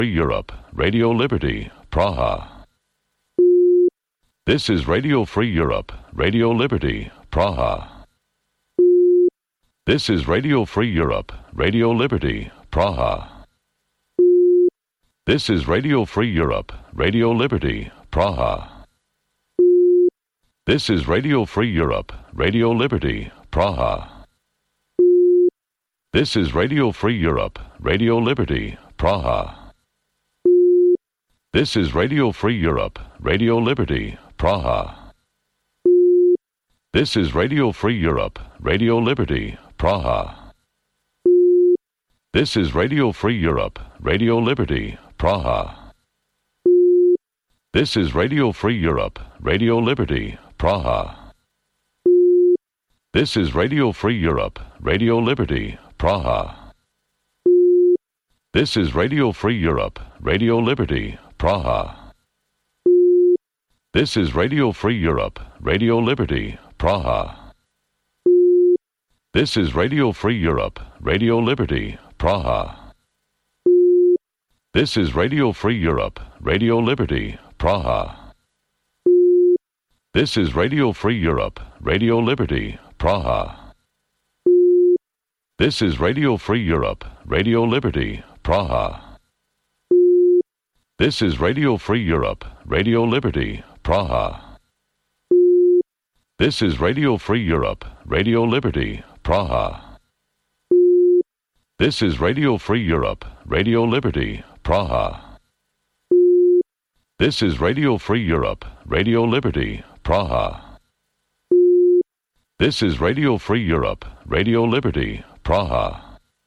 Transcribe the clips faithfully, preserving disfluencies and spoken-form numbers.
Free Europe, Radio Liberty, Praha. This is Radio Free Europe, Radio Liberty, Praha. This is Radio Free Europe, Radio Liberty, Praha. This is Radio Free Europe, Radio Liberty, Praha. This is Radio Free Europe, Radio Liberty, Praha. This is Radio Free Europe, Radio Liberty, Praha. This is Radio Free Europe, Radio Liberty, Praha. This is Radio Free Europe, Radio Liberty, Praha. This is Radio Free Europe, Radio Liberty, Praha. This is Radio Free Europe, Radio Liberty, Praha. This is Radio Free Europe, Radio Liberty, Praha. This is Radio Free Europe, Radio Liberty, Praha. This is Radio Free Europe, Radio Liberty, Praha. This is Radio Free Europe, Radio Liberty, Praha. This is Radio Free Europe, Radio Liberty, Praha. This is Radio Free Europe, Radio Liberty, Praha. This is Radio Free Europe, Radio Liberty, Praha. This is Radio Free Europe, Radio Liberty, Praha. This is Radio Free Europe, Radio Liberty, Praha. This is Radio Free Europe, Radio Liberty, Praha. This is Radio Free Europe, Radio Liberty, Praha. This is Radio Free Europe, Radio Liberty, Praha.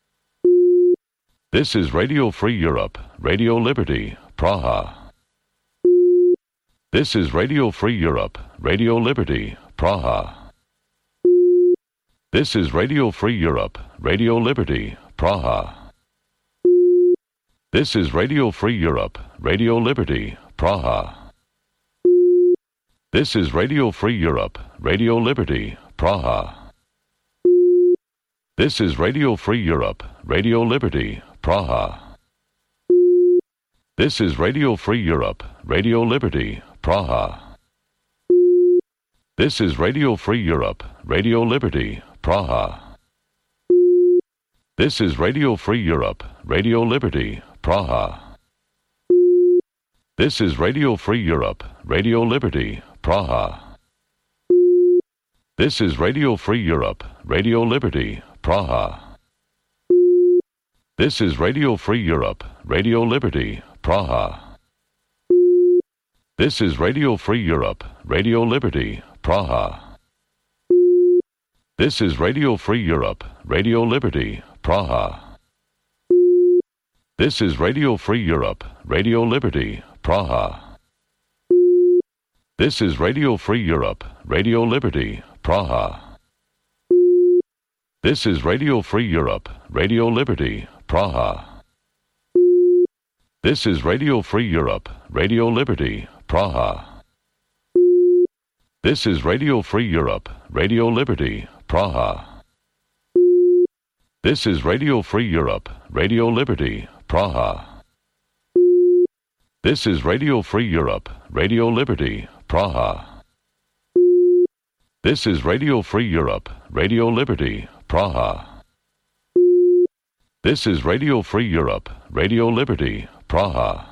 This is Radio Free Europe, Radio Liberty, Praha. This is Radio Free Europe, Radio Liberty, Praha. This is Radio Free Europe, Radio Liberty, Praha. This is Radio Free Europe, Radio Liberty, Praha. This is Radio Free Europe, Radio Liberty, Praha. This is Radio Free Europe, Radio Liberty, Praha. This is Radio Free Europe, Radio Liberty, Praha. This is Radio Free Europe, Radio Liberty, Praha. This is Radio Free Europe, Radio Liberty, Praha. This is Radio Free Europe, Radio Liberty, Praha. This is Radio Free Europe, Radio Liberty, Praha. This is Radio Free Europe, Radio Liberty, Praha. This is Radio Free Europe, Radio Liberty, Praha. This is Radio Free Europe, Radio Liberty, Praha. This is Radio Free Europe, Radio Liberty, Praha. This is Radio Free Europe, Radio Liberty, Praha. This is Radio Free Europe, Radio Liberty, Praha. This is Radio Free Europe, Radio Liberty, Praha. This is Radio Free Europe, Radio Liberty, Praha. This is Radio Free Europe, Radio Liberty, Praha. This is Radio Free Europe, Radio Liberty, Praha. This is Radio Free Europe, Radio Liberty, Praha. This is Radio Free Europe, Radio Liberty, Praha.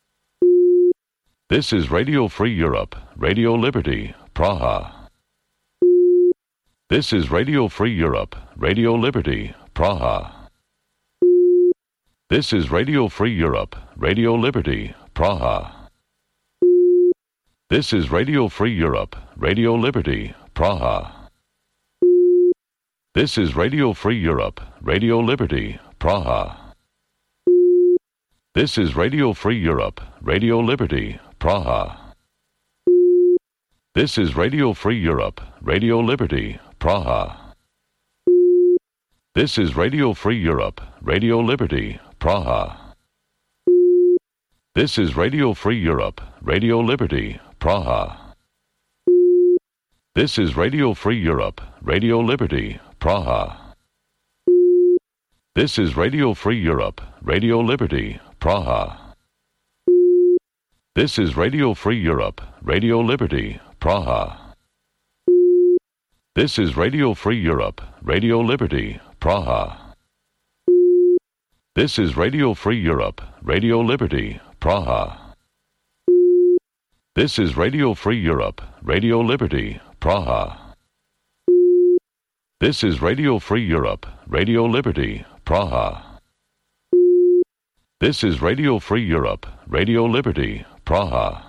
This is Radio Free Europe, Radio Liberty, Praha. This is Radio Free Europe, Radio Liberty, Praha. This is Radio Free Europe, Radio Liberty, Praha. This is Radio Free Europe, Radio Liberty, Praha. This is Radio Free Europe, Radio Liberty, Praha. This is Radio Free Europe, Radio Liberty, Praha. This is Radio Free Europe, Radio Liberty, Praha. This is Radio Free Europe, Radio Liberty, Praha. This is Radio Free Europe, Radio Liberty, Praha. This is Radio Free Europe, Radio Liberty, Praha. This is Radio Free Europe, Radio Liberty, Praha. This is Radio Free Europe, Radio Liberty, Praha. This is Radio Free Europe, Radio Liberty, Praha. This is Radio Free Europe, Radio Liberty, Praha. This is Radio Free Europe, Radio Liberty, Praha. This is Radio Free Europe, Radio Liberty, Praha. This is Radio Free Europe, Radio Liberty, Praha.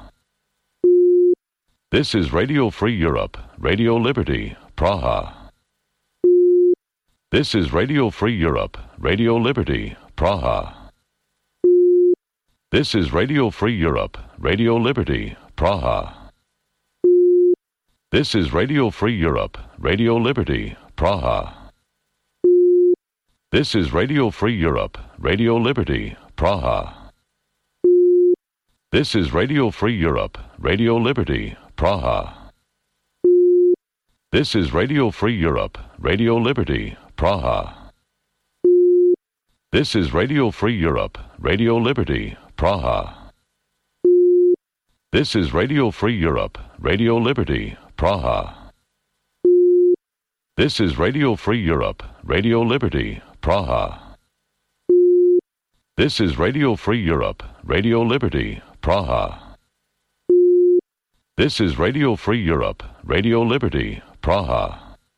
This is Radio Free Europe, Radio Liberty, Praha. This is Radio Free Europe, Radio Liberty, Praha. This is Radio Free Europe, Radio Liberty, Praha. This is Radio Free Europe, Radio Liberty, Praha. This is Radio Free Europe, Radio Liberty, Praha. This is Radio Free Europe, Radio Liberty, Praha. This is Radio Free Europe, Radio Liberty, Praha. This is Radio Free Europe, Radio Liberty, Praha. This is Radio Free Europe, Radio Liberty, Praha. This is Radio Free Europe, Radio Liberty, Praha. This is Radio Free Europe, Radio Liberty, Praha. This is Radio Free Europe, Radio Liberty, Praha.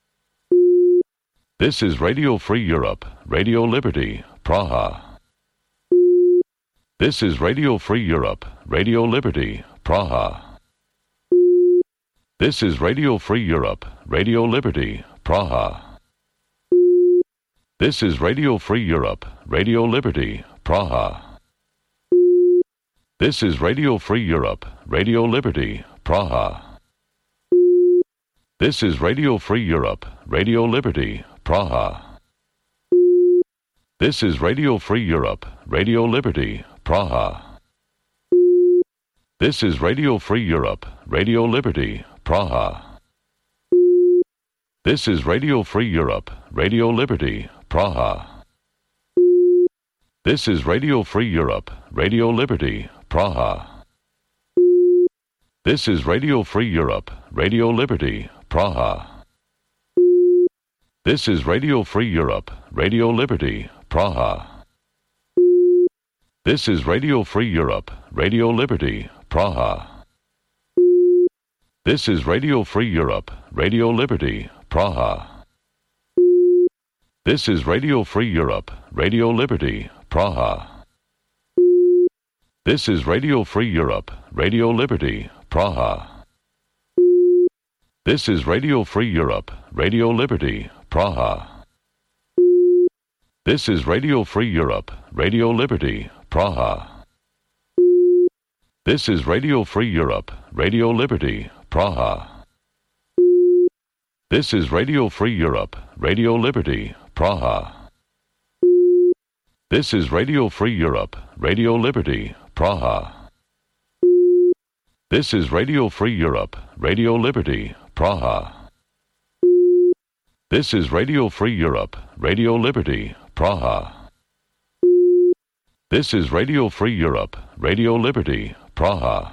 This is Radio Free Europe, Radio Liberty, Praha. This is Radio Free Europe, Radio Liberty, Praha. This is Radio Free Europe, Radio Liberty, Praha. This is Radio Free Europe, Radio Liberty, Praha. This is Radio Free Europe, Radio Liberty, Praha. This is Radio Free Europe, Radio Liberty, Praha. This is Radio Free Europe, Radio Liberty, Praha. This is Radio Free Europe, Radio Liberty, Praha. This is Radio Free Europe, Radio Liberty, Praha. This is Radio Free Europe, Radio Liberty, Praha. This is Radio Free Europe, Radio Liberty, Praha. This is Radio Free Europe, Radio Liberty, Praha. This is Radio Free Europe, Radio Liberty, Praha. This is Radio Free Europe, Radio Liberty, Praha. This is Radio Free Europe, Radio Liberty, Praha. This is Radio Free Europe, Radio Liberty, Praha. This is Radio Free Europe, Radio Liberty, Praha. This is Radio Free Europe, Radio Liberty, Praha. This is Radio Free Europe, Radio Liberty, Praha. This is Radio Free Europe, Radio Liberty, Praha. This is Radio Free Europe, Radio Liberty, Praha. This is Radio Free Europe, Radio Liberty, Praha. This is Radio Free Europe, Radio Liberty, Praha. This is Radio Free Europe, Radio Liberty, Praha.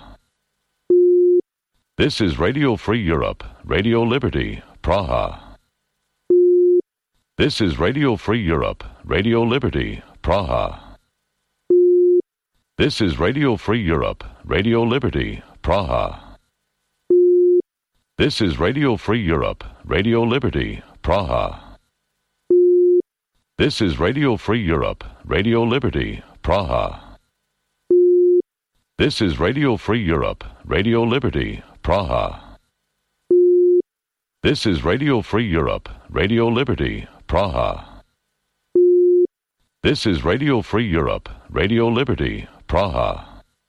This is Radio Free Europe, Radio Liberty, Praha. This is Radio Free Europe, Radio Liberty, Praha. This is Radio Free Europe, Radio Liberty, Praha. This is Radio Free Europe, Radio Liberty, Praha. This is Radio Free Europe, Radio Liberty, Praha. This is Radio Free Europe, Radio Liberty, Praha. This is Radio Free Europe, Radio Liberty, Praha. This is Radio Free Europe, Radio Liberty, Praha.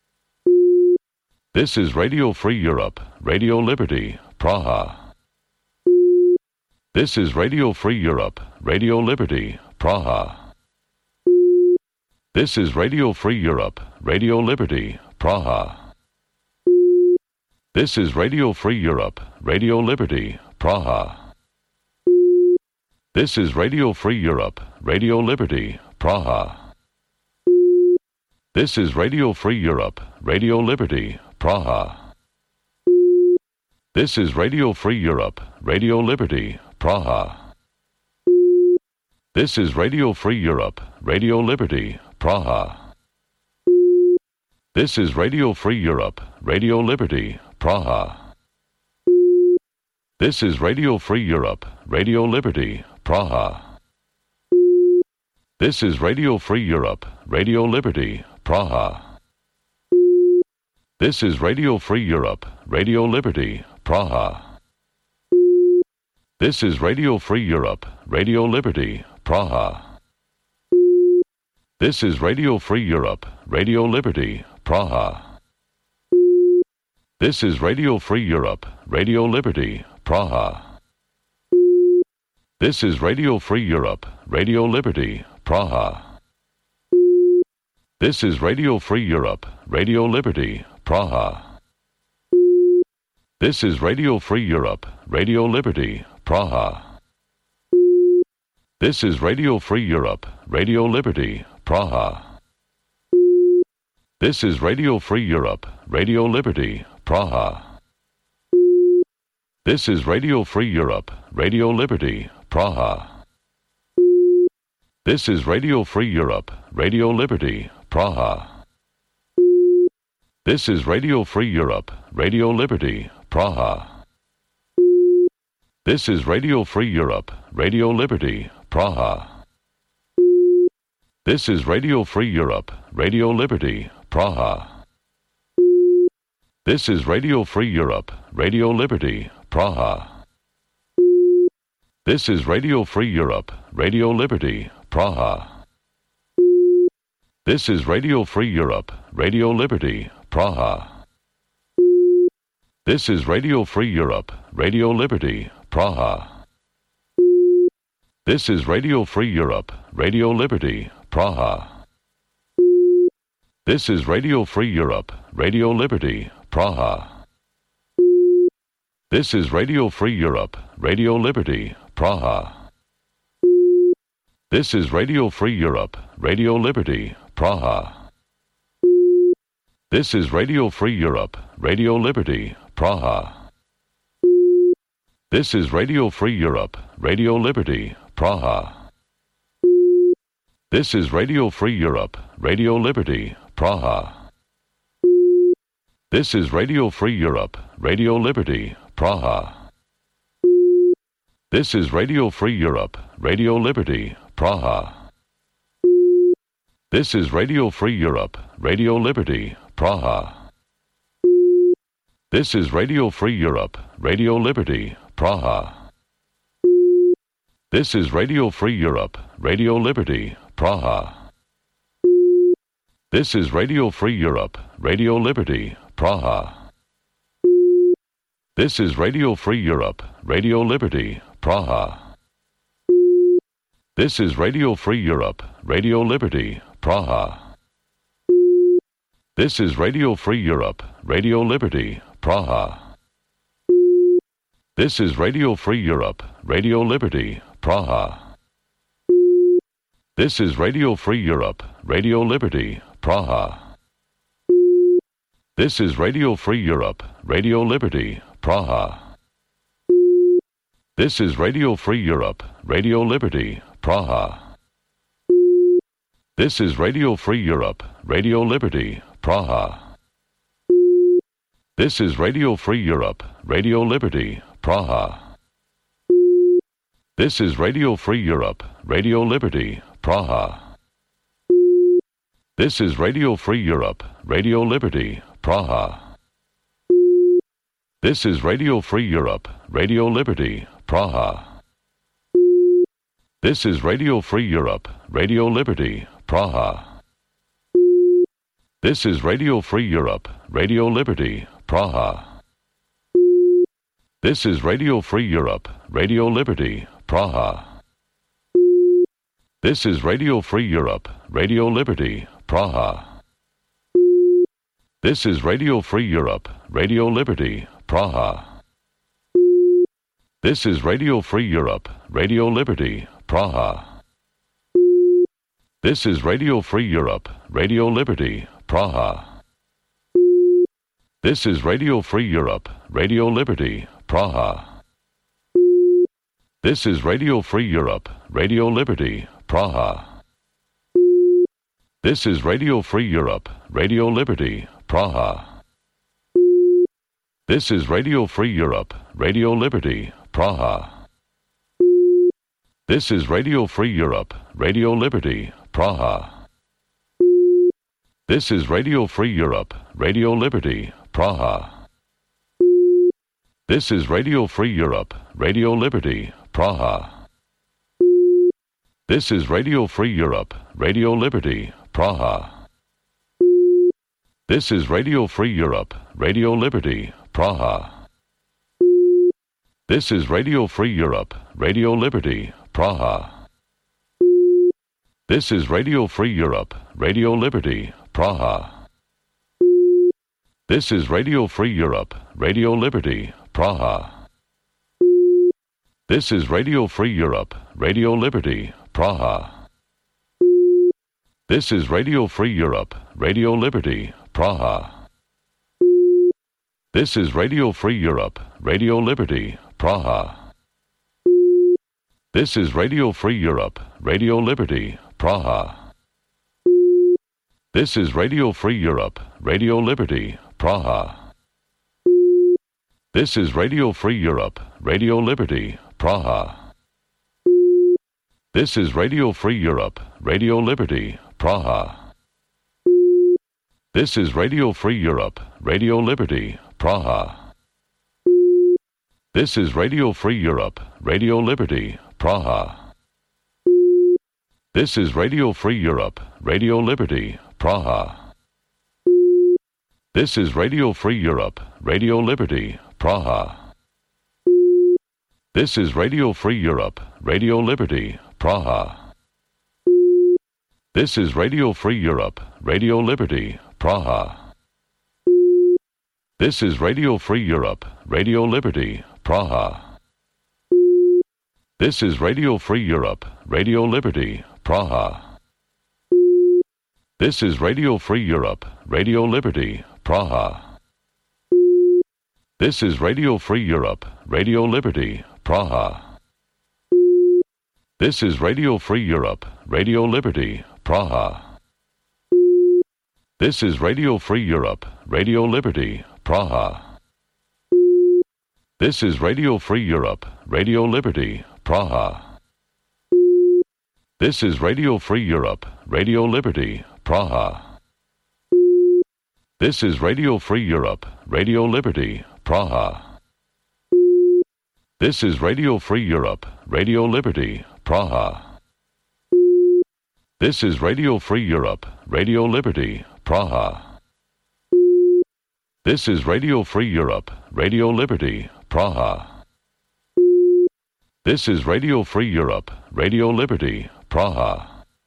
This is Radio Free Europe, Radio Liberty, Praha. This is Radio Free Europe, Radio Liberty, Praha. This is Radio Free Europe, Radio Liberty, Praha. This is Radio Free Europe, Radio Liberty, Praha. This is Radio Free Europe, Radio Liberty, Praha. This is Radio Free Europe, Radio Liberty, Praha. This is Radio Free Europe, Radio Liberty, Praha. This is Radio Free Europe, Radio Liberty, Praha. This is Radio Free Europe, Radio Liberty, Praha. This is Radio Free Europe, Radio Liberty, Praha. This is Radio Free Europe, Radio Liberty, Praha. This is Radio Free Europe, Radio Liberty, Praha. This is Radio Free Europe, Radio Liberty, Praha. This is Radio Free Europe, Radio Liberty, Praha. This is Radio Free Europe, Radio Liberty, Praha. This is Radio Free Europe, Radio Liberty, Praha. This is Radio Free Europe, Radio Liberty, Praha. This is Radio Free Europe, Radio Liberty, Praha. This is Radio Free Europe, Radio Liberty, Praha. This is Radio Free Europe, Radio Liberty, Praha. This is Radio Free Europe, Radio Liberty, Praha. This is Radio Free Europe, Radio Liberty, Praha. This is Radio Free Europe, Radio Liberty, Praha. This is Radio Free Europe, Radio Liberty, Praha. This is Radio Free Europe, Radio Liberty, Praha. This is Radio Free Europe, Radio Liberty, Praha. This is Radio Free Europe, Radio Liberty, Praha. This is Radio Free Europe, Radio Liberty, Praha. This is Radio Free Europe, Radio Liberty, Praha. This is Radio Free Europe, Radio Liberty, Praha. This is Radio Free Europe, Radio Liberty, Praha. This is Radio Free Europe, Radio Liberty, Praha. This is Radio Free Europe, Radio Liberty, Praha. This is Radio Free Europe, Radio Liberty, Praha. This is Radio Free Europe, Radio Liberty, Praha. This is Radio Free Europe, Radio Liberty, Praha. This is Radio Free Europe, Radio Liberty, Praha. This is Radio Free Europe, Radio Liberty, Praha. This is Radio Free Europe, Radio Liberty, Praha. This is Radio Free Europe, Radio Liberty, Praha. This is Radio Free Europe, Radio Liberty, Praha. This is Radio Free Europe, Radio Liberty, Praha. This is Radio Free Europe, Radio Liberty, Praha. This is Radio Free Europe, Radio Liberty, Praha. This is Radio Free Europe, Radio Liberty, Praha. This is Radio Free Europe, Radio Liberty, Praha. This is Radio Free Europe, Radio Liberty, Praha. This is Radio Free Europe, Radio Liberty, Praha. This is Radio Free Europe, Radio Liberty, Praha. This is Radio Free Europe, Radio Liberty, Praha. This is Radio Free Europe, Radio Liberty, Praha. This is Radio Free Europe, Radio Liberty, Praha. This is Radio Free Europe, Radio Liberty, Praha. This is Radio Free Europe, Radio Liberty, Praha. This is Radio Free Europe, Radio Liberty, Praha. This is Radio Free Europe, Radio Liberty, Praha. This is Radio Free Europe, Radio Liberty, Praha. This is Radio Free Europe, Radio Liberty, Praha. This is Radio Free Europe, Radio Liberty, Praha. This is Radio Free Europe, Radio Liberty, Praha. This is Radio Free Europe, Radio Liberty, Praha. This is Radio Free Europe, Radio Liberty, Praha. This is Radio Free Europe, Radio Liberty, Praha. This is Radio Free Europe, Radio Liberty, Praha. This is Radio Free Europe, Radio Liberty, Praha. This is Radio Free Europe, Radio Liberty, Praha. This is Radio Free Europe, Radio Liberty, Praha. This is Radio Free Europe, Radio Liberty, Praha. This is Radio Free Europe, Radio Liberty, Praha. This is Radio Free Europe, Radio Liberty, Praha. This is Radio Free Europe, Radio Liberty, Praha. This is Radio Free Europe, Radio Liberty, Praha. This is Radio Free Europe, Radio Liberty, Praha. This is Radio Free Europe, Radio Liberty, Praha. This is Radio Free Europe, Radio Liberty, Praha. This is Radio Free Europe, Radio Liberty, Praha. This is Radio Free Europe, Radio Liberty, Praha. This is Radio Free Europe, Radio Liberty, Praha. This is Radio Free Europe, Radio Liberty, Praha. This is Radio Free Europe, Radio Liberty, Praha. This is Radio Free Europe, Radio Liberty, Praha. This is Radio Free Europe, Radio Liberty, Praha. This is Radio Free Europe, Radio Liberty, Praha. This is Radio Free Europe, Radio Liberty, Praha. This is Radio Free Europe, Radio Liberty, Praha. This is Radio Free Europe, Radio Liberty, Praha. This is Radio Free Europe, Radio Liberty, Praha. This is Radio Free Europe, Radio Liberty, Praha. This is Radio Free Europe, Radio Liberty, Praha. This is Radio Free Europe, Radio Liberty, Praha. This is Radio Free Europe, Radio Liberty, Praha. This is Radio Free Europe, Radio Liberty, Praha. This is Radio Free Europe, Radio Liberty, Praha. This is Radio Free Europe, Radio Liberty, Praha. This is Radio Free Europe, Radio Liberty, Praha. This is Radio Free Europe, Radio Liberty, Praha. This is Radio Free Europe, Radio Liberty, Praha. This is Radio Free Europe, Radio Liberty, Praha. This is Radio Free Europe, Radio Liberty, Praha.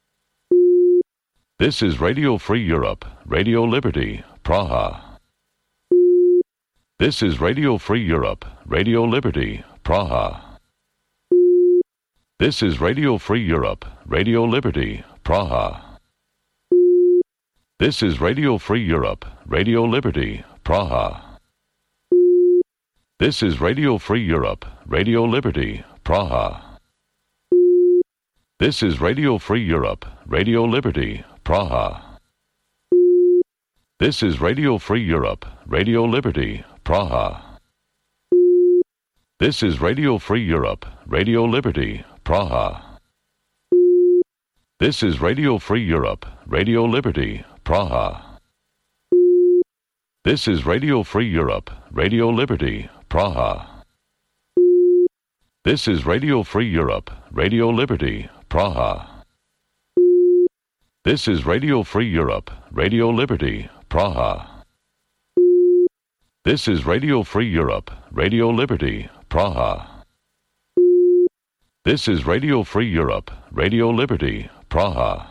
This is Radio Free Europe, Radio Liberty, Praha. This is Radio Free Europe, Radio Liberty, Praha. This is Radio Free Europe, Radio Liberty, Praha. This is Radio Free Europe, Radio Liberty, Praha. This is Radio Free Europe, Radio Liberty, Praha. This is Radio Free Europe, Radio Liberty, Praha. This is Radio Free Europe, Radio Liberty, Praha. This is Radio Free Europe, Radio Liberty, Praha. This is Radio Free Europe, Radio Liberty, Praha. This is Radio Free Europe, Radio Liberty, Praha. This is Radio Free Europe, Radio Liberty, Praha. This is Radio Free Europe, Radio Liberty, Praha. This is Radio Free Europe, Radio Liberty, Praha. This is Radio Free Europe, Radio Liberty, Praha.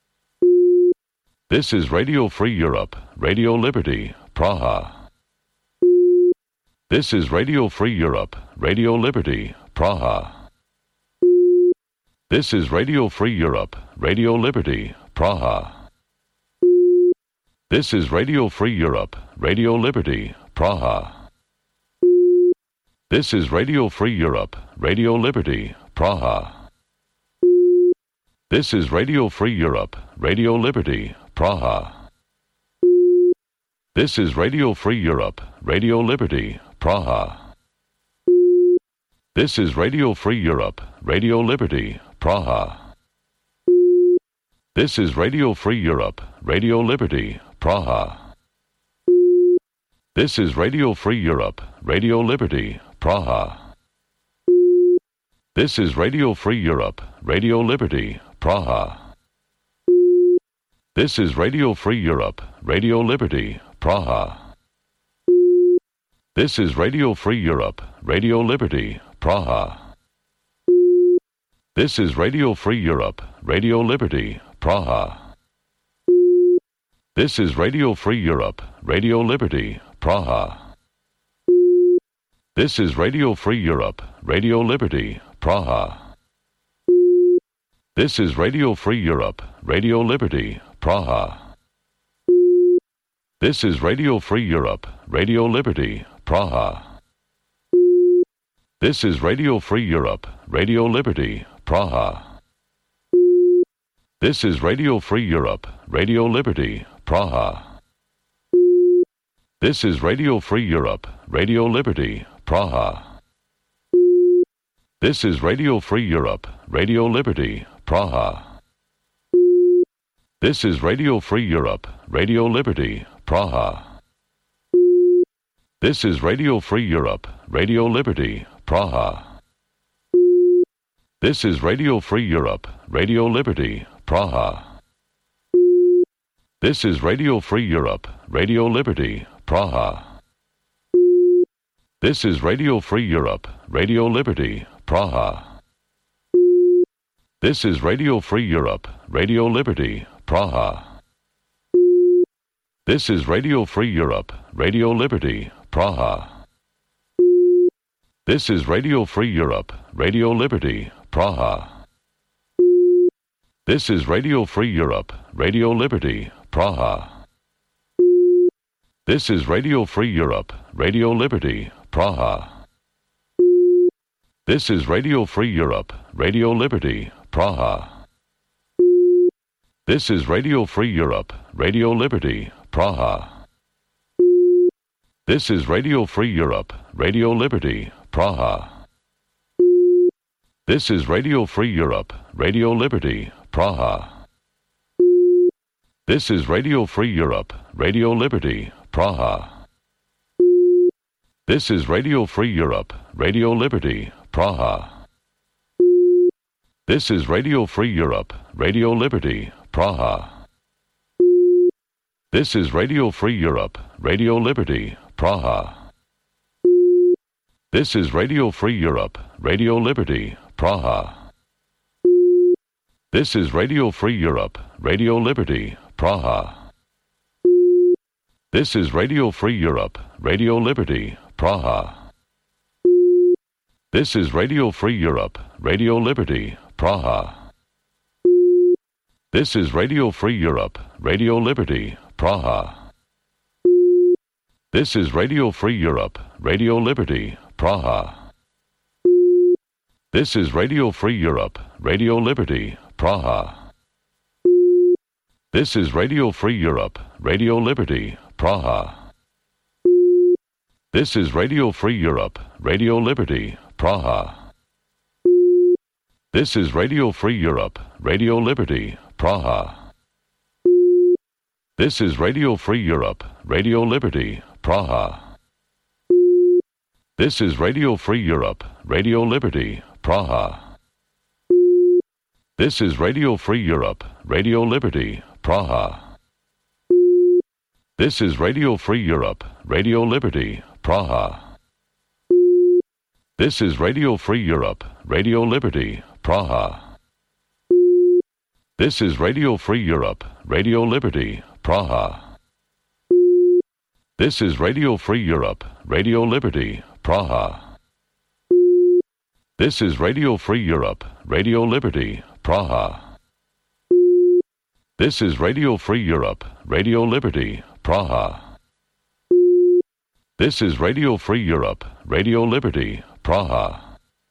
This is Radio Free Europe, Radio Liberty, Praha. This is Radio Free Europe, Radio Liberty, Praha. This is Radio Free Europe, Radio Liberty, Praha. This is Radio Free Europe, Radio Liberty, Praha. This is Radio Free Europe, Radio Liberty, Praha. This is Radio Free Europe, Radio Liberty, Praha. This is Radio Free Europe, Radio Liberty, Praha. This is Radio Free Europe, Radio Liberty, Praha. This is Radio Free Europe, Radio Liberty, Praha. This is Radio Free Europe, Radio Liberty, Praha. This is Radio Free Europe, Radio Liberty, Praha. This is Radio Free Europe, Radio Liberty, Praha. This is Radio Free Europe, Radio Liberty, Praha. This is Radio Free Europe, Radio Liberty, Praha. This is Radio Free Europe, Radio Liberty, Praha. This is Radio Free Europe, Radio Liberty, Praha. This is Radio Free Europe, Radio Liberty, Praha. This is Radio Free Europe, Radio Liberty, Praha. This is Radio Free Europe, Radio Liberty, Praha. This is Radio Free Europe, Radio Liberty, Praha. This is Radio Free Europe, Radio Liberty, Praha. This is Radio Free Europe, Radio Liberty, Praha. This is Radio Free Europe, Radio Liberty, Praha. This is Radio Free Europe, Radio Liberty, Praha. This is Radio Free Europe, Radio Liberty, Praha. This is Radio Free Europe, Radio Liberty, Praha. This is Radio Free Europe, Radio Liberty, Praha. This is Radio Free Europe, Radio Liberty, Praha. This is Radio Free Europe, Radio Liberty, Praha. This is Radio Free Europe, Radio Liberty, Praha. This is Radio Free Europe, Radio Liberty, Praha. This is Radio Free Europe, Radio Liberty, Praha. This is Radio Free Europe, Radio Liberty, Praha. This is Radio Free Europe, Radio Liberty, Praha. This is Radio Free Europe, Radio Liberty, Praha. This is Radio Free Europe, Radio Liberty, Praha. This is Radio Free Europe, Radio Liberty, Praha. This is Radio Free Europe, Radio Liberty, Praha. This is Radio Free Europe, Radio Liberty, Praha. This is Radio Free Europe, Radio Liberty, Praha. This is Radio Free Europe, Radio Liberty, Praha. This is Radio Free Europe, Radio Liberty, Praha. This is Radio Free Europe, Radio Liberty, Praha. This is Radio Free Europe, Radio Liberty, Praha. This is Radio Free Europe, Radio Liberty, Praha. This is Radio Free Europe, Radio Liberty, Praha. This is Radio Free Europe, Radio Liberty, Praha. This is Radio Free Europe, Radio Liberty, Praha. This is Radio Free Europe, Radio Liberty, Praha. This is Radio Free Europe, Radio Liberty, Praha. This is Radio Free Europe, Radio Liberty, Praha. This is Radio Free Europe, Radio Liberty, Praha. This is Radio Free Europe, Radio Liberty, Praha. This is Radio Free Europe, Radio Liberty, Praha. This is Radio Free Europe, Radio Liberty, Praha. This is Radio Free Europe, Radio Liberty, Praha. This is Radio Free Europe, Radio Liberty, Praha. This is Radio Free Europe, Radio Liberty, Praha. This is Radio Free Europe, Radio Liberty, Praha. This is Radio Free Europe, Radio Liberty, Praha.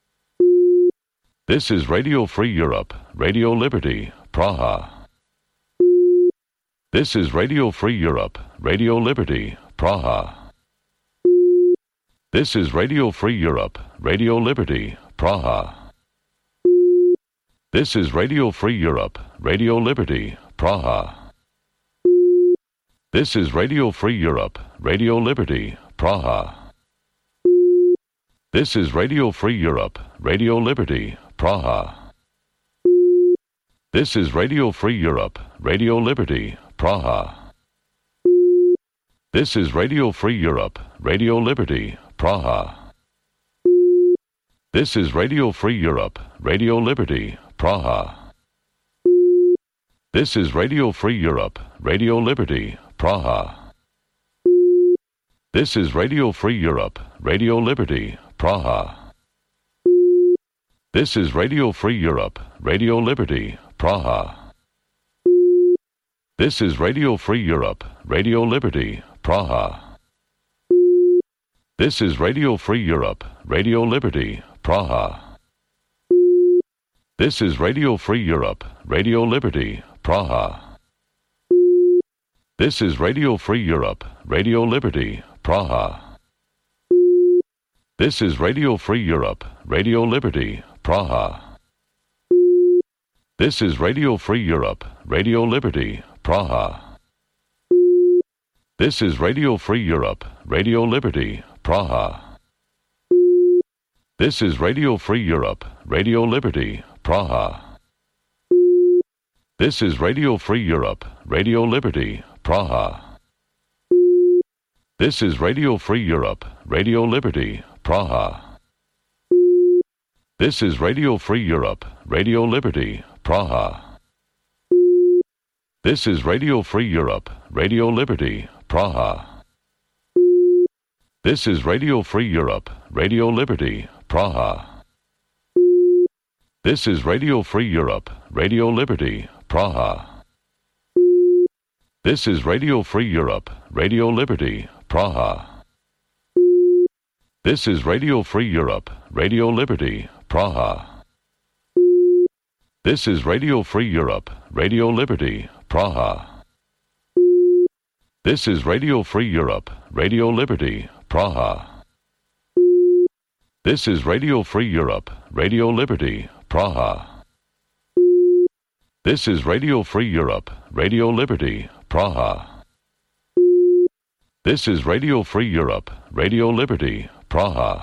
This is Radio Free Europe, Radio Liberty, Praha. This is Radio Free Europe, Radio Liberty, Praha. This is Radio Free Europe, Radio Liberty, Praha. This is Radio Free Europe, Radio Liberty, Praha. This is Radio Free Europe, Radio Liberty, Praha. This is Radio Free Europe, Radio Liberty, Praha. This is Radio Free Europe, Radio Liberty, Praha. This is Radio Free Europe, Radio Liberty, Praha. This is Radio Free Europe, Radio Liberty, Praha. This is Radio Free Europe, Radio Liberty, Praha. This is Radio Free Europe, Radio Liberty, Praha. This is Radio Free Europe, Radio Liberty, Praha. This is Radio Free Europe, Radio Liberty, Praha. This is Radio Free Europe, Radio Liberty, Praha. This is Radio Free Europe, Radio Liberty, Praha. This is Radio Free Europe, Radio Liberty, Praha. This is Radio Free Europe, Radio Liberty, Praha. This is Radio Free Europe, Radio Liberty, Praha. This is Radio Free Europe, Radio Liberty, Praha. This is Radio Free Europe, Radio Liberty, Praha. This is Radio Free Europe, Radio Liberty, Praha. This is Radio Free Europe, Radio Liberty, Praha. This is Radio Free Europe, Radio Liberty, Praha. This is Radio Free Europe, Radio Liberty, Praha. This is Radio Free Europe, Radio Liberty, Praha. This is Radio Free Europe, Radio Liberty, Praha. This is Radio Free Europe, Radio Liberty, Praha. This is Radio Free Europe, Radio Liberty, Praha. This is Radio Free Europe, Radio Liberty, Praha. This is Radio Free Europe, Radio Liberty, Praha. This is Radio Free Europe, Radio Liberty, Praha. This is Radio Free Europe, Radio Liberty, Praha. This is Radio Free Europe, Radio Liberty, Praha.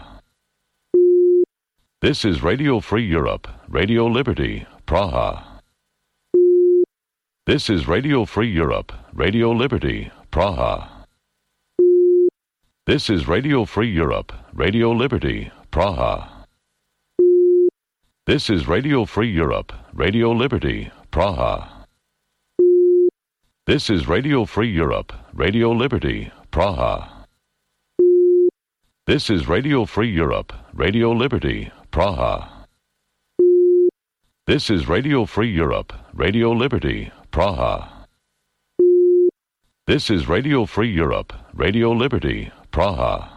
This is Radio Free Europe, Radio Liberty, Praha. This is Radio Free Europe, Radio Liberty, Praha. This is Radio Free Europe, Radio Liberty, Praha. This is Radio Free Europe, Radio Liberty, Praha. This is Radio Free Europe, Radio Liberty, Praha. This is Radio Free Europe, Radio Liberty, Praha. This is Radio Free Europe, Radio Liberty, Praha. This is Radio Free Europe, Radio Liberty, Praha.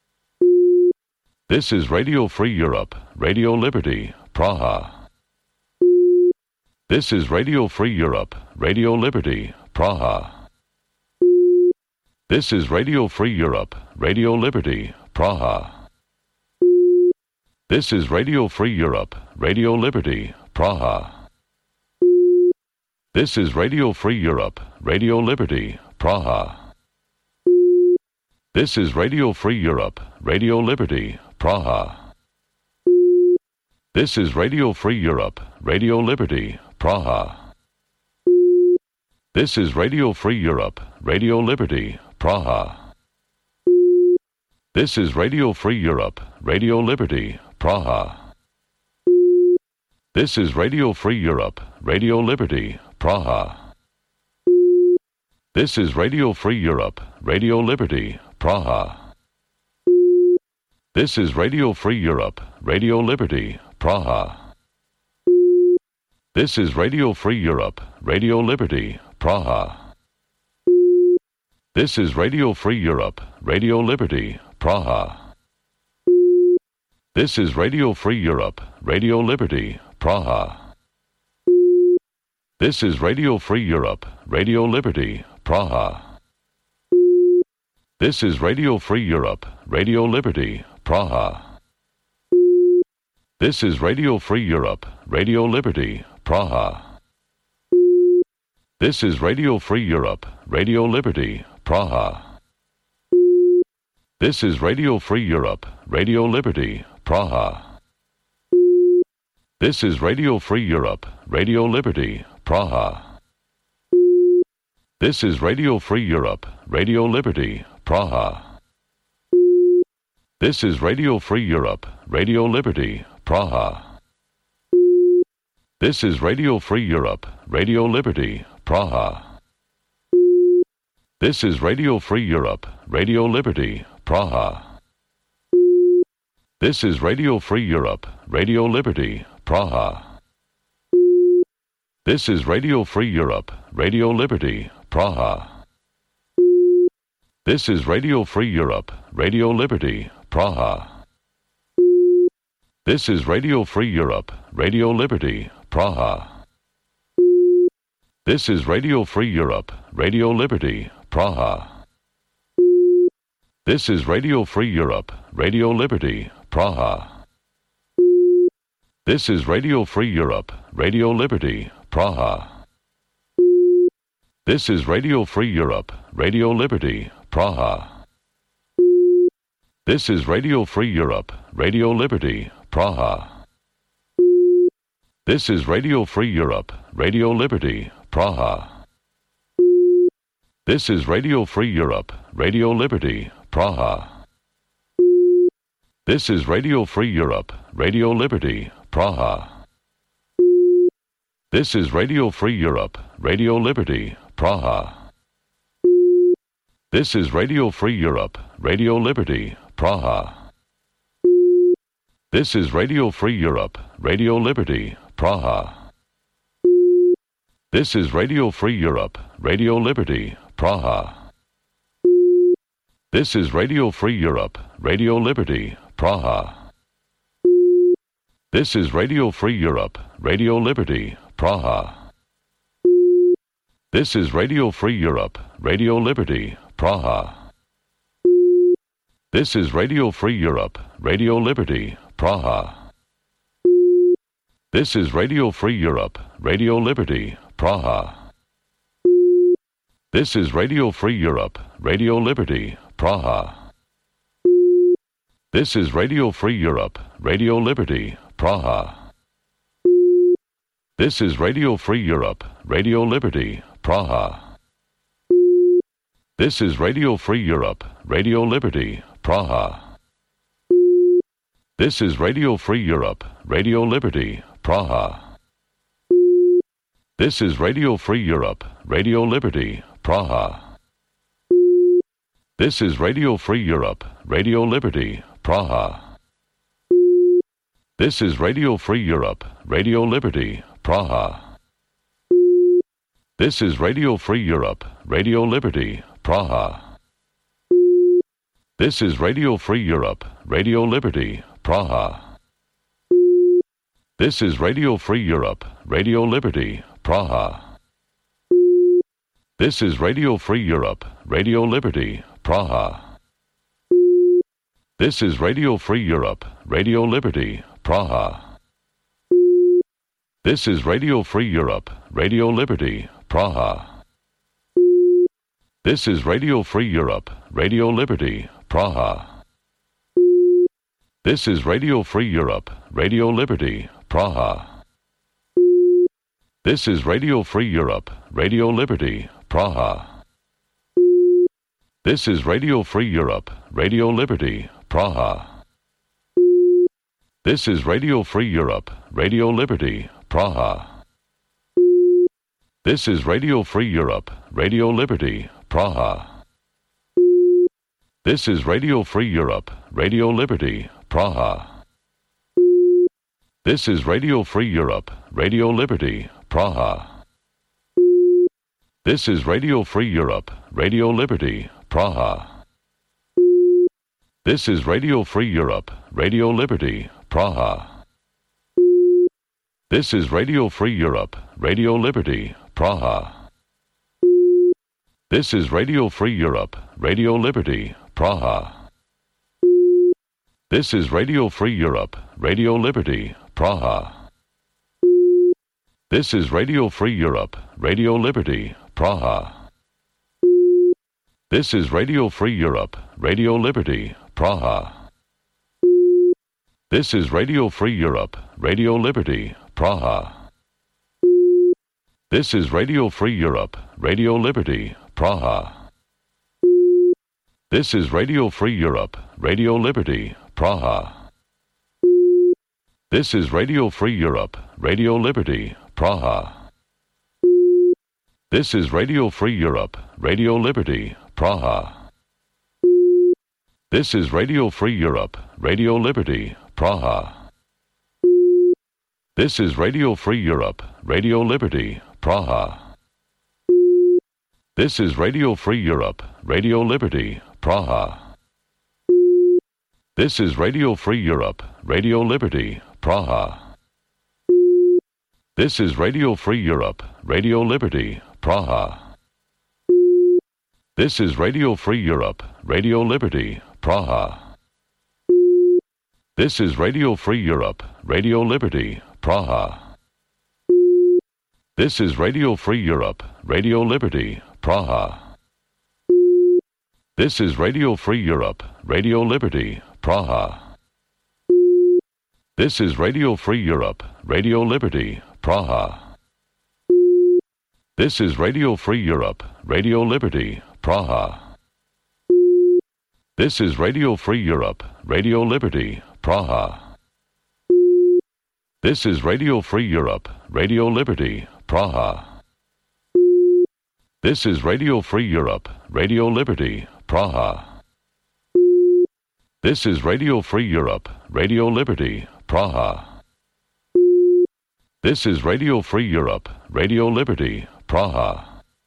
This is Radio Free Europe, Radio Liberty, Praha. This is Radio Free Europe, Radio Liberty, Praha. This is Radio Free Europe, Radio Liberty, Praha. This is Radio Free Europe, Radio Liberty, Praha. This is Radio Free Europe, Radio Liberty, Praha. This is Radio Free Europe, Radio Liberty, Praha. This is Radio Free Europe, Radio Liberty, Praha. This is Radio Free Europe, Radio Liberty, Praha. This is Radio Free Europe, Radio Liberty, Praha. This is Radio Free Europe, Radio Liberty, Praha. This is Radio Free Europe, Radio Liberty, Praha. This is Radio Free Europe, Radio Liberty, Praha. This is Radio Free Europe, Radio Liberty, Praha. This is Radio Free Europe, Radio Liberty, Praha. This is Radio Free Europe, Radio Liberty, Praha. This is Radio Free Europe, Radio Liberty, Praha. This is Radio Free Europe, Radio Liberty, Praha. This is Radio Free Europe, Radio Liberty, Praha. This is Radio Free Europe, Radio Liberty, Praha. This is Radio Free Europe, Radio Liberty, Praha. This is Radio Free Europe, Radio Liberty, Praha. This is Radio Free Europe, Radio Liberty, Praha. This is Radio Free Europe, Radio Liberty, Praha. This is Radio Free Europe, Radio Liberty, Praha. This is Radio Free Europe, Radio Liberty, Praha. This is Radio Free Europe, Radio Liberty, Praha. This is Radio Free Europe, Radio Liberty, Praha. This is Radio Free Europe, Radio Liberty, Praha. This is Radio Free Europe, Radio Liberty, Praha. This is Radio Free Europe, Radio Liberty, Praha. This is Radio Free Europe, Radio Liberty, Praha. This is Radio Free Europe, Radio Liberty, Praha. This is Radio Free Europe, Radio Liberty, Praha. This is Radio Free Europe, Radio Liberty, Praha. This is Radio Free Europe, Radio Liberty, Praha. This is Radio Free Europe, Radio Liberty, Praha. This is Radio Free Europe, Radio Liberty, Praha. This is Radio Free Europe, Radio Liberty, Praha. This is Radio Free Europe, Radio Liberty, Praha. This is Radio Free Europe, Radio Liberty, Praha. This is Radio Free Europe, Radio Liberty, Praha. This is Radio Free Europe, Radio Liberty, Praha. This is Radio Free Europe, Radio Liberty, Praha. This is Radio Free Europe, Radio Liberty, Praha. This is Radio Free Europe, Radio Liberty, Praha. This is Radio Free Europe, Radio Liberty, Praha. This is Radio Free Europe, Radio Liberty, Praha. This is Radio Free Europe, Radio Liberty, Praha. This is Radio Free Europe, Radio Liberty, Praha. This is Radio Free Europe, Radio Liberty, Praha. This is Radio Free Europe, Radio Liberty, Praha. This is Radio Free Europe, Radio Liberty, Praha. This is Radio Free Europe, Radio Liberty, Praha. This is Radio Free Europe, Radio Liberty, Praha. This is Radio Free Europe, Radio Liberty, Praha. This is Radio Free Europe, Radio Liberty, Praha. This is Radio Free Europe, Radio Liberty, Praha. This is Radio Free Europe, Radio Liberty, Praha. This is Radio Free Europe, Radio Liberty, Praha. This is Radio Free Europe, Radio Liberty, Praha. This is Radio Free Europe, Radio Liberty, Praha. This is Radio Free Europe, Radio Liberty, Praha. This is Radio Free Europe, Radio Liberty, Praha. This is Radio Free Europe, Radio Liberty, Praha. This is Radio Free Europe, Radio Liberty, Praha. This is Radio Free Europe, Radio Liberty, Praha. This is Radio Free Europe, Radio Liberty, Praha. This is Radio Free Europe, Radio Liberty, Praha. This is Radio Free Europe, Radio Liberty, Praha. This is Radio Free Europe, Radio Liberty, Praha. This is Radio Free Europe, Radio Liberty, Praha. This is Radio Free Europe, Radio Liberty, Praha. This is Radio Free Europe, Radio Liberty, Praha. This is Radio Free Europe, Radio Liberty, Praha. This is Radio Free Europe, Radio Liberty, Praha. This is Radio Free Europe, Radio Liberty, Praha. This is Radio Free Europe, Radio Liberty, Praha. This is Radio Free Europe, Radio Liberty, Praha. This is Radio Free Europe, Radio Liberty, Praha. This is Radio Free Europe, Radio Liberty, Praha. This is Radio Free Europe, Radio Liberty, Praha. This is Radio Free Europe, Radio Liberty, Praha. This is Radio Free Europe, Radio Liberty, Praha. This is Radio Free Europe, Radio Liberty, Praha. This is Radio Free Europe, Radio Liberty, Praha. This is Radio Free Europe, Radio Liberty, Praha. This is Radio Free Europe, Radio Liberty, Praha. This is Radio Free Europe, Radio Liberty, Praha. This is Radio Free Europe, Radio Liberty, Praha. This is Radio Free Europe, Radio Liberty, Praha. This is Radio Free Europe, Radio Liberty, Praha. This is Radio Free Europe, Radio Liberty, Praha. This is Radio Free Europe, Radio Liberty, Praha. This is Radio Free Europe, Radio Liberty, Praha. This is Radio Free Europe, Radio Liberty, Praha. This is Radio Free Europe, Radio Liberty, Praha.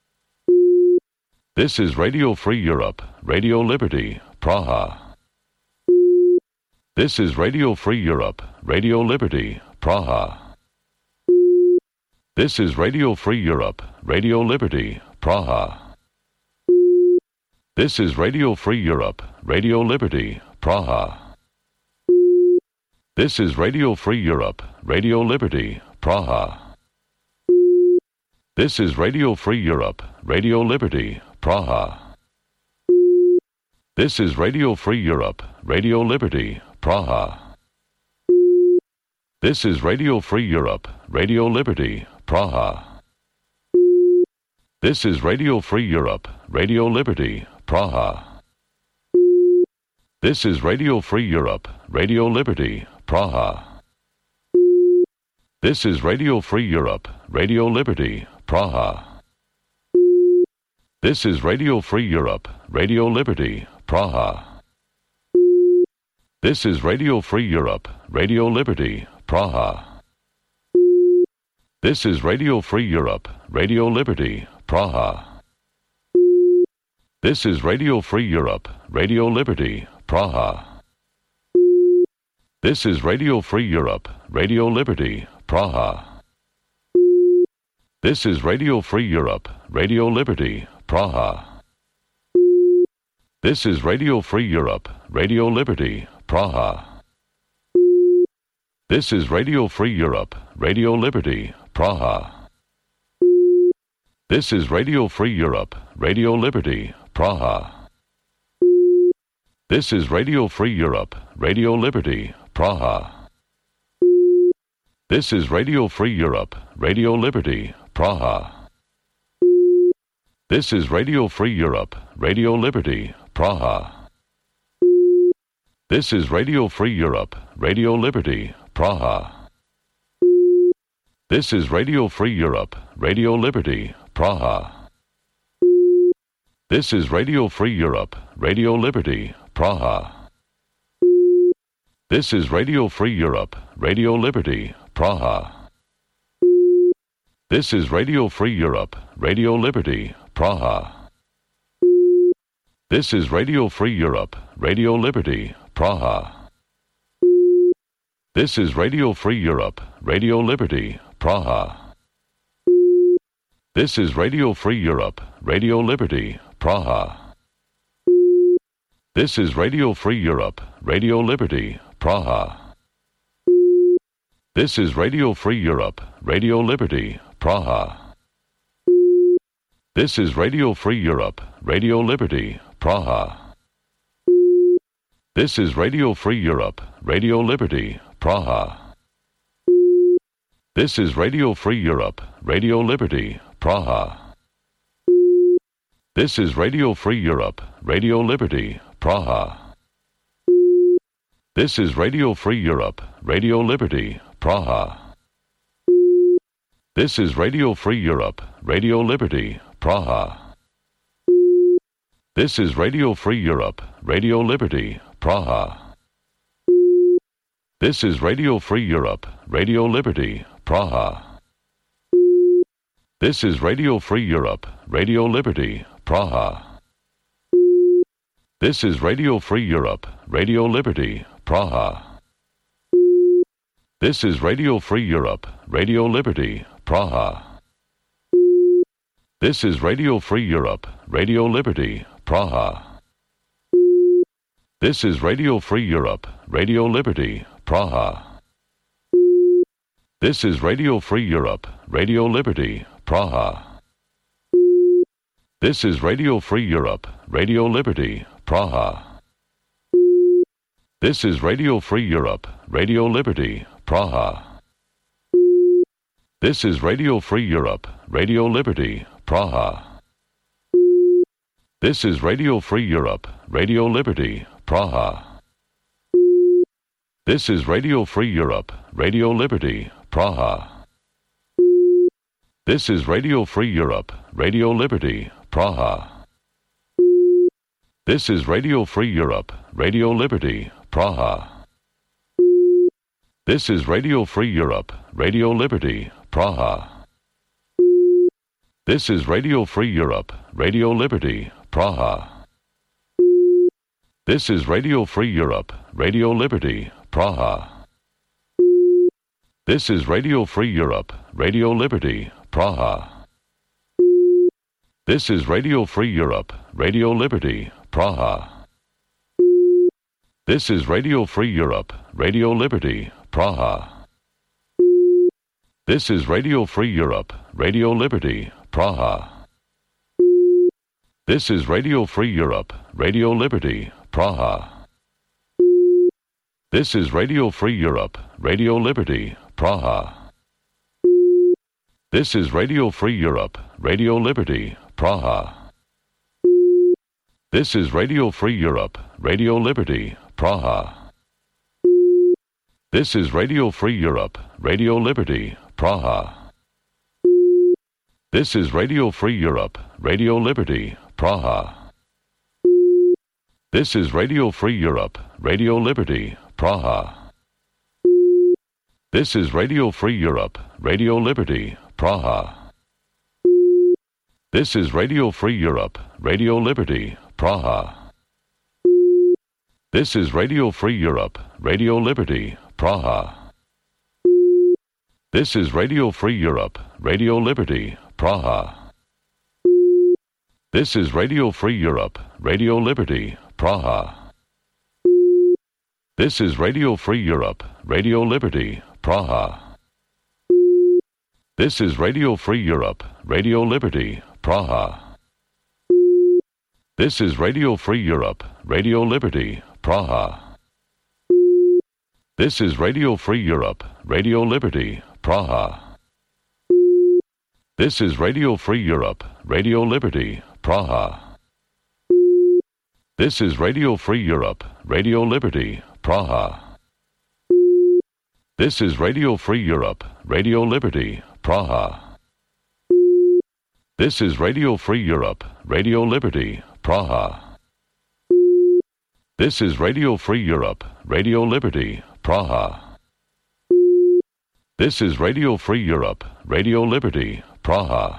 This is Radio Free Europe, Radio Liberty, Praha. This is Radio Free Europe, Radio Liberty, Praha. This is Radio Free Europe, Radio Liberty, Praha. This is Radio Free Europe, Radio Liberty, Praha. This is Radio Free Europe, Radio Liberty, Praha. This is Radio Free Europe, Radio Liberty, Praha. This is Radio Free Europe, Radio Liberty, Praha. This is Radio Free Europe, Radio Liberty, Praha. This is Radio Free Europe, Radio Liberty, Praha. This is Radio Free Europe, Radio Liberty, Praha. This is Radio Free Europe, Radio Liberty, Praha. This is Radio Free Europe, Radio Liberty, Praha. This is Radio Free Europe, Radio Liberty, Praha. This is Radio Free Europe, Radio Liberty, Praha. This is Radio Free Europe, Radio Liberty, Praha. This is Radio Free Europe, Radio Liberty, Praha. This is Radio Free Europe, Radio Liberty, Praha. This is Radio Free Europe, Radio Liberty, Praha. This is Radio Free Europe, Radio Liberty, Praha. This is Radio Free Europe, Radio Liberty, Praha. This is Radio Free Europe, Radio Liberty, Praha. This is Radio Free Europe, Radio Liberty, Praha. This is Radio Free Europe, Radio Liberty, Praha. This is Radio Free Europe, Radio Liberty, Praha. This is Radio Free Europe, Radio Liberty, Praha. This is Radio Free Europe, Radio Liberty, Praha. This is Radio Free Europe, Radio Liberty, Praha. This is Radio Free Europe, Radio Liberty, Praha. This is Radio Free Europe, Radio Liberty, Praha. This is Radio Free Europe, Radio Liberty, Praha. This is Radio Free Europe, Radio Liberty, Praha. This is Radio Free Europe, Radio Liberty, Praha. This is Radio Free Europe, Radio Liberty, Praha. This is Radio Free Europe, Radio Liberty, Praha. This is Radio Free Europe, Radio Liberty, Praha. This is Radio Free Europe, Radio Liberty, Praha. This is Radio Free Europe, Radio Liberty, Praha. This is Radio Free Europe, Radio Liberty, Praha. This is Radio Free Europe, Radio Liberty, Praha. This is Radio Free Europe, Radio Liberty, Praha. This is Radio Free Europe, Radio Liberty, Praha. This is Radio Free Europe, Radio Liberty, Praha. This is Radio Free Europe, Radio Liberty, Praha. This is Radio Free Europe, Radio Liberty, Praha. This is Radio Free Europe, Radio Liberty, Praha. This is Radio Free Europe, Radio Liberty, Praha. This is Radio Free Europe, Radio Liberty, Praha. This is Radio Free Europe, Radio Liberty, Praha. This is Radio Free Europe, Radio Liberty, Praha. This is Radio Free Europe, Radio Liberty, Praha. This is Radio Free Europe, Radio Liberty, Praha. This is Radio Free Europe, Radio Liberty, Praha. This is Radio Free Europe, Radio Liberty, Praha. This is Radio Free Europe, Radio Liberty, Praha. This is Radio Free Europe, Radio Liberty, Praha. This is Radio Free Europe, Radio Liberty, Praha. This is Radio Free Europe, Radio Liberty, Praha. This is Radio Free Europe, Radio Liberty, Praha. This is Radio Free Europe, Radio Liberty, Praha. This is Radio Free Europe, Radio Liberty, Praha. This is Radio Free Europe, Radio Liberty, Praha. This is Radio Free Europe, Radio Liberty, Praha. This is Radio Free Europe, Radio Liberty, Praha. This is Radio Free Europe, Radio Liberty, Praha. This is Radio Free Europe, Radio Liberty, Praha. This is Radio Free Europe, Radio Liberty, Praha. This is Radio Free Europe, Radio Liberty, Praha. This is Radio Free Europe, Radio Liberty, Praha. This is Radio Free Europe, Radio Liberty, Praha. This is Radio Free Europe, Radio Liberty, Praha. This is Radio Free Europe, Radio Liberty, Praha. This is Radio Free Europe, Radio Liberty, Praha. This is Radio Free Europe, Radio Liberty, Praha. This is Radio Free Europe, Radio Liberty, Praha. This is Radio Free Europe, Radio Liberty, Praha. This is Radio Free Europe, Radio Liberty, Praha. This is Radio Free Europe, Radio Liberty, Praha. This is Radio Free Europe, Radio Liberty, Praha. This is Radio Free Europe, Radio Liberty, Praha. This is Radio Free Europe, Radio Liberty, Praha. This is Radio Free Europe, Radio Liberty, Praha. This is Radio Free Europe, Radio Liberty, Praha. This is Radio Free Europe, Radio Liberty, Praha.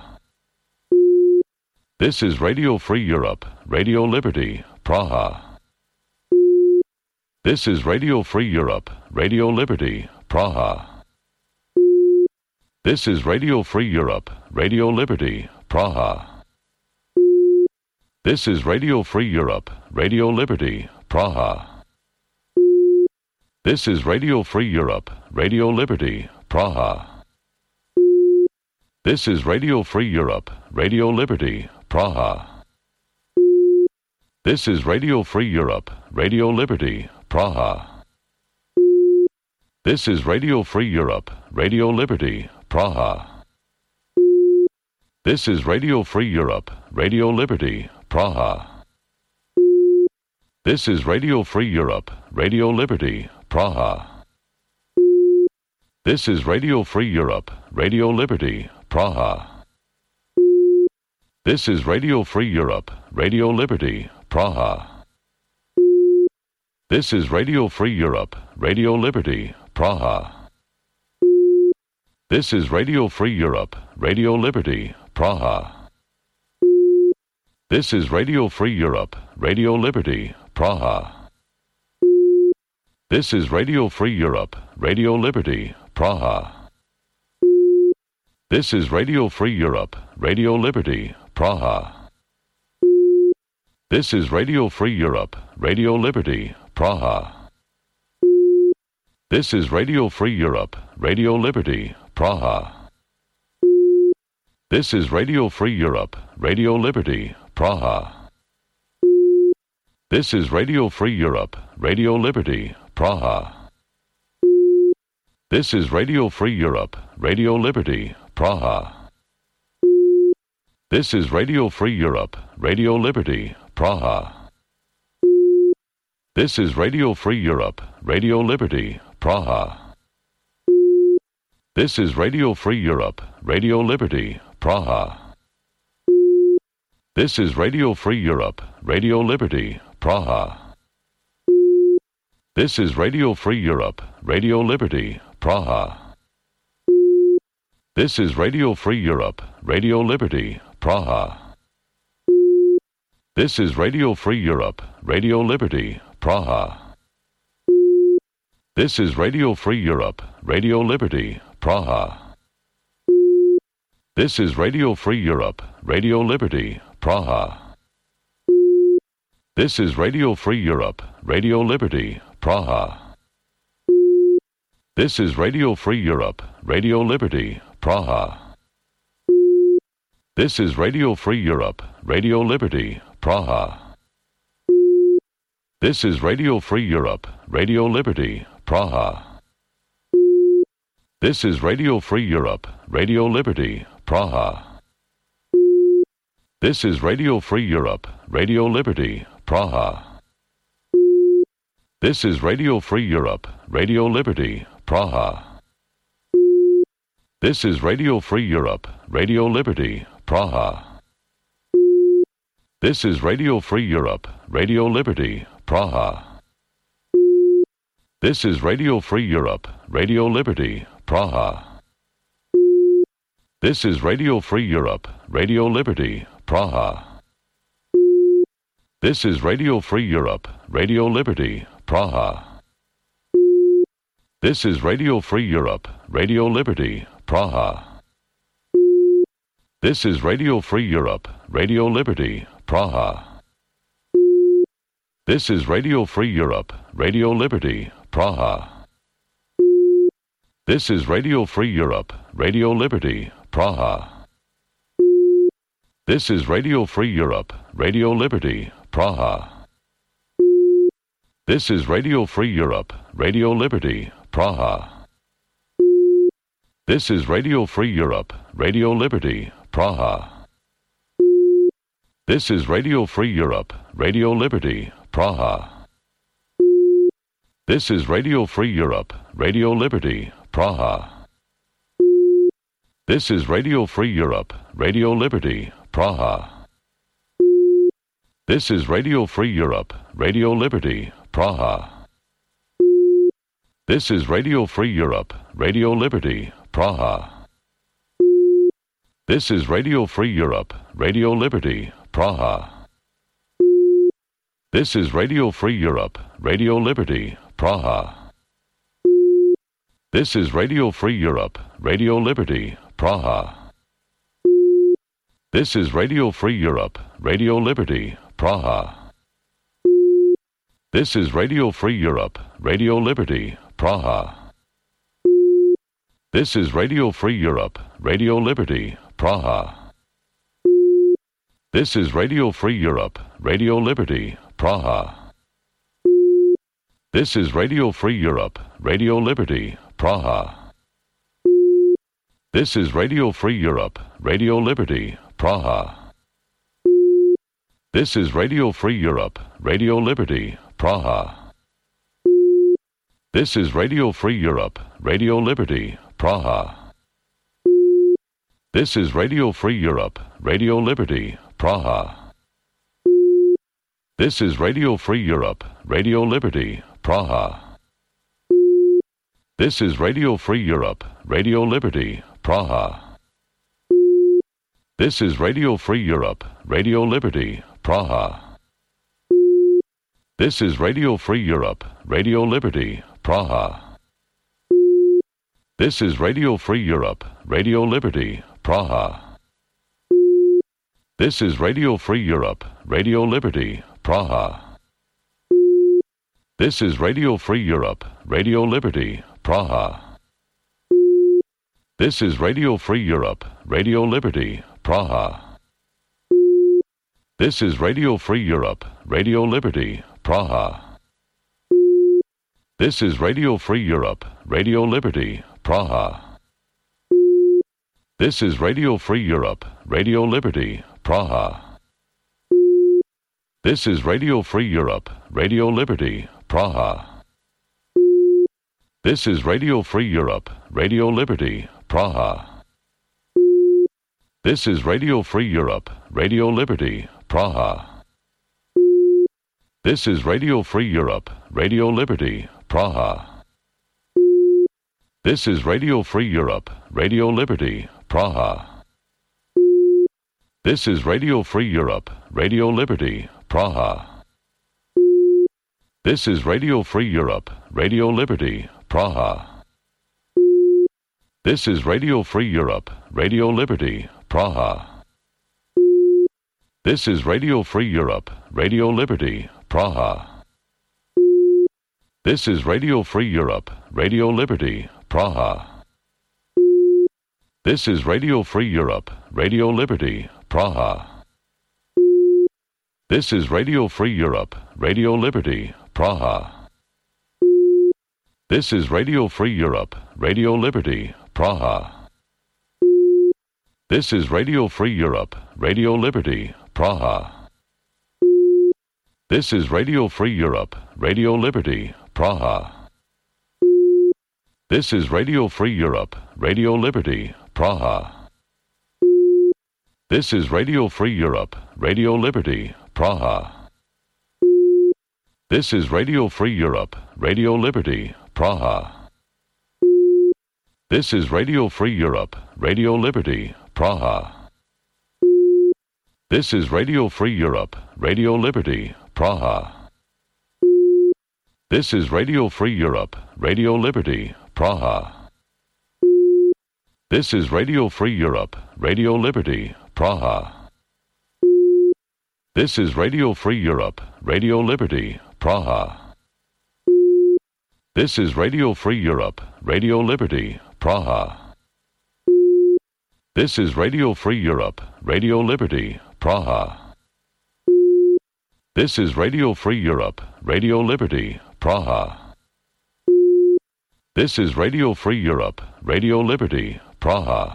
This is Radio Free Europe, Radio Liberty, Praha. This is Radio Free Europe, Radio Liberty, Praha. This is Radio Free Europe, Radio Liberty, Praha. This is Radio Free Europe, Radio Liberty, Praha. This is Radio Free Europe, Radio Liberty, Praha. This is Radio Free Europe, Radio Liberty, Praha. This is Radio Free Europe, Radio Liberty, Praha. This is Radio Free Europe, Radio Liberty, Praha. This is Radio Free Europe, Radio Liberty, Praha. This is Radio Free Europe, Radio Liberty, Praha. This is Radio Free Europe, Radio Liberty, Praha. This is Radio Free Europe, Radio Liberty, Praha. This is Radio Free Europe, Radio Liberty, Praha. This is Radio Free Europe, Radio Liberty, Praha. This is Radio Free Europe, Radio Liberty, Praha. This is Radio Free Europe, Radio Liberty, Praha. This is Radio Free Europe, Radio Liberty, Praha. This is Radio Free Europe, Radio Liberty, Praha. This is Radio Free Europe, Radio Liberty, Praha. This is Radio Free Europe, Radio Liberty, Praha. This is Radio Free Europe, Radio Liberty, Praha. This is Radio Free Europe, Radio Liberty, Praha. This is Radio Free Europe, Radio Liberty, Praha. This is Radio Free Europe, Radio Liberty, Praha. This is Radio Free Europe, Radio Liberty, Praha. This is Radio Free Europe, Radio Liberty, Praha. This is Radio Free Europe, Radio Liberty, Praha. This is Radio Free Europe, Radio Liberty, Praha. This is Radio Free Europe, Radio Liberty, Praha. This is Radio Free Europe, Radio Liberty, Praha. This is Radio Free Europe, Radio Liberty, Praha. This is Radio Free Europe, Radio Liberty, Praha. This is Radio Free Europe, Radio Liberty, Praha. This is Radio Free Europe, Radio Liberty, Praha. This is Radio Free Europe, Radio Liberty, Praha. This is Radio Free Europe, Radio Liberty, Praha. This is Radio Free Europe, Radio Liberty, Praha. This is Radio Free Europe, Radio Liberty, Praha. This is Radio Free Europe, Radio Liberty, Praha. This is Radio Free Europe, Radio Liberty, Praha. This is Radio Free Europe, Radio Liberty, Praha. This is Radio Free Europe, Radio Liberty, Praha. This is Radio Free Europe, Radio Liberty, Praha. This is Radio Free Europe, Radio Liberty, Praha. This is Radio Free Europe, Radio Liberty, Praha. This is Radio Free Europe, Radio Liberty, Praha. This is Radio Free Europe, Radio Liberty, Praha. This is Radio Free Europe, Radio Liberty, Praha. This is Radio Free Europe, Radio Liberty, Praha. This is Radio Free Europe, Radio Liberty, Praha. This is Radio Free Europe, Radio Liberty, Praha. This is Radio Free Europe, Radio Liberty, Praha. This is Radio Free Europe, Radio Liberty, Praha. This is Radio Free Europe, Radio Liberty, Praha. This is Radio Free Europe, Radio Liberty, Praha. This is Radio Free Europe, Radio Liberty, Praha. This is Radio Free Europe, Radio Liberty, Praha. This is Radio Free Europe, Radio Liberty, Praha. This is Radio Free Europe, Radio Liberty, Praha. This is Radio Free Europe, Radio Liberty, Praha. This is Radio Free Europe, Radio Liberty, Praha. This is Radio Free Europe, Radio Liberty, Praha. This is Radio Free Europe, Radio Liberty, Praha. This is Radio Free Europe, Radio Liberty, Praha. This is Radio Free Europe, Radio Liberty, Praha. This is Radio Free Europe, Radio Liberty, Praha. This is Radio Free Europe, Radio Liberty, Praha. This is Radio Free Europe, Radio Liberty, Praha. This is Radio Free Europe, Radio Liberty, Praha. This is Radio Free Europe, Radio Liberty, Praha. This is Radio Free Europe, Radio Liberty, Praha. This is Radio Free Europe, Radio Liberty, Praha. This is Radio Free Europe, Radio Liberty, Praha. This is Radio Free Europe, Radio Liberty, Praha. This is Radio Free Europe, Radio Liberty, Praha. This is Radio Free Europe, Radio Liberty, Praha. This is Radio Free Europe, Radio Liberty, Praha. This is Radio Free Europe, Radio Liberty, Praha. This is Radio Free Europe, Radio Liberty, Praha. This is Radio Free Europe, Radio Liberty, Praha. This is Radio Free Europe, Radio Liberty, Praha. This is Radio Free Europe, Radio Liberty, Praha. This is Radio Free Europe, Radio Liberty, Praha. This is Radio Free Europe, Radio Liberty, Praha. This is Radio Free Europe, Radio Liberty, Praha. This is Radio Free Europe, Radio Liberty, Praha. This is Radio Free Europe, Radio Liberty, Praha. This is Radio Free Europe, Radio Liberty, Praha. This is Radio Free Europe, Radio Liberty, Praha. This is Radio Free Europe, Radio Liberty, Praha. This is Radio Free Europe, Radio Liberty, Praha. This is Radio Free Europe, Radio Liberty, Praha. This is Radio Free Europe, Radio Liberty, Praha. This is Radio Free Europe, Radio Liberty, Praha. This is Radio Free Europe, Radio Liberty, Praha. This is Radio Free Europe, Radio Liberty, Praha. This is Radio Free Europe, Radio Liberty, Praha. This is Radio Free Europe, Radio Liberty, Praha. This is Radio Free Europe, Radio Liberty, Praha. This is Radio Free Europe, Radio Liberty, Praha. This is Radio Free Europe, Radio Liberty, Praha. This is Radio Free Europe, Radio Liberty, Praha. This is Radio Free Europe, Radio Liberty, Praha. This is Radio Free Europe, Radio Liberty, Praha. This is Radio Free Europe, Radio Liberty, Praha.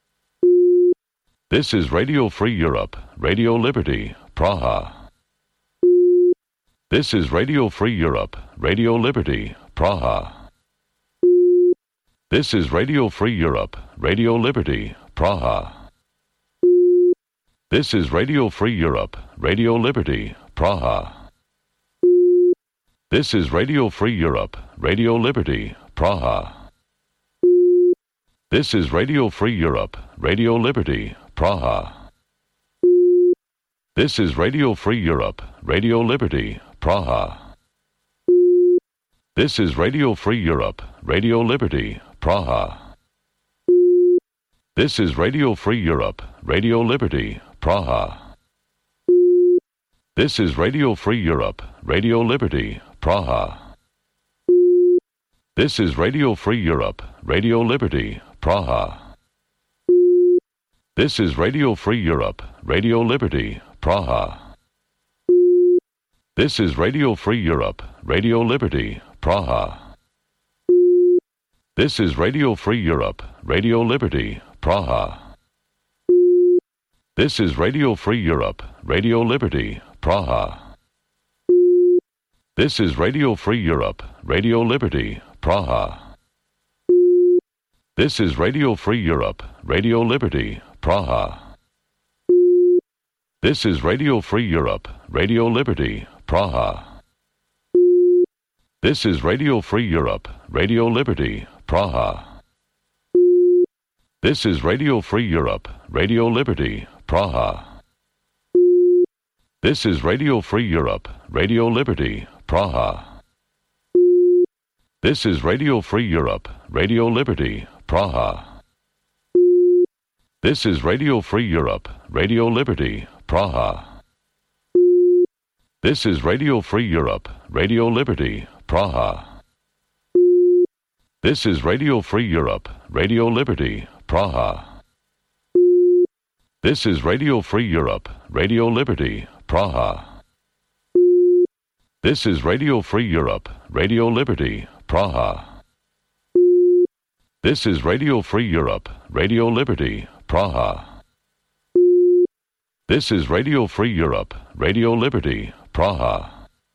This is Radio Free Europe, Radio Liberty, Praha. This is Radio Free Europe, Radio Liberty, Praha. This is Radio Free Europe, Radio Liberty, Praha. This is Radio Free Europe, Radio Liberty, Praha. This is Radio Free Europe, Radio Liberty, Praha. This is Radio Free Europe, Radio Liberty, Praha. This is Radio Free Europe, Radio Liberty, Praha. This is Radio Free Europe, Radio Liberty, Praha. This is Radio Free Europe, Radio Liberty, Praha. This is Radio Free Europe, Radio Liberty, Praha. This is Radio Free Europe, Radio Liberty, Praha. This is Radio Free Europe, Radio Liberty, Praha. This is Radio Free Europe, Radio Liberty, Praha. This is Radio Free Europe, Radio Liberty, Praha. This is Radio Free Europe, Radio Liberty, Praha. This is Radio Free Europe, Radio Liberty, Praha. This is Radio Free Europe, Radio Liberty, Praha. This is Radio Free Europe, Radio Liberty, Praha. This is Radio Free Europe, Radio Liberty, Praha. This is Radio Free Europe, Radio Liberty, Praha. This is Radio Free Europe, Radio Liberty, Praha. This is Radio Free Europe, Radio Liberty, Praha. This is Radio Free Europe, Radio Liberty, Praha. This is Radio Free Europe, Radio Liberty, Praha. This is Radio Free Europe, Radio Liberty, Praha. This is Radio Free Europe, Radio Liberty, Praha. This is Radio Free Europe, Radio Liberty, Praha. This is Radio Free Europe, Radio Liberty, Praha. This is Radio Free Europe, Radio Liberty, Praha.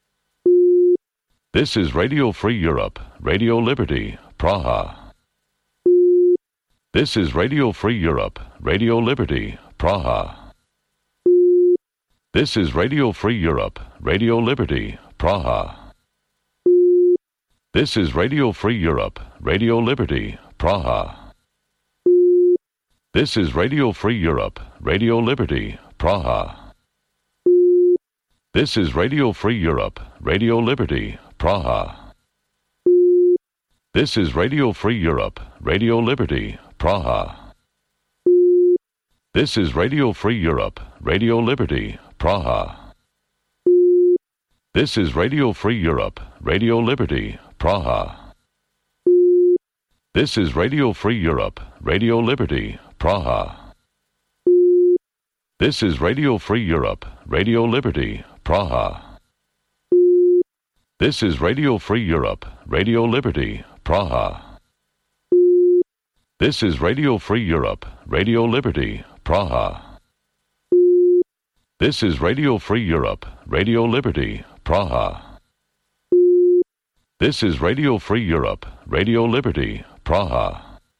This is Radio Free Europe, Radio Liberty, Praha. This is Radio Free Europe, Radio Liberty, Praha. This is Radio Free Europe, Radio Liberty, Praha. This is Radio Free Europe, Radio Liberty, Praha. This is Radio Free Europe, Radio Liberty, Praha. This is Radio Free Europe, Radio Liberty, Praha. This is Radio Free Europe, Radio Liberty, Praha. This is Radio Free Europe, Radio Liberty, Praha. This is Radio Free Europe, Radio Liberty, Praha. This is Radio Free Europe, Radio Liberty, Praha. This is Radio Free Europe, Radio Liberty, Praha. This is Radio Free Europe, Radio Liberty, Praha. This is Radio Free Europe, Radio Liberty, Praha. This is Radio Free Europe, Radio Liberty, Praha. This is Radio Free Europe, Radio Liberty, Praha.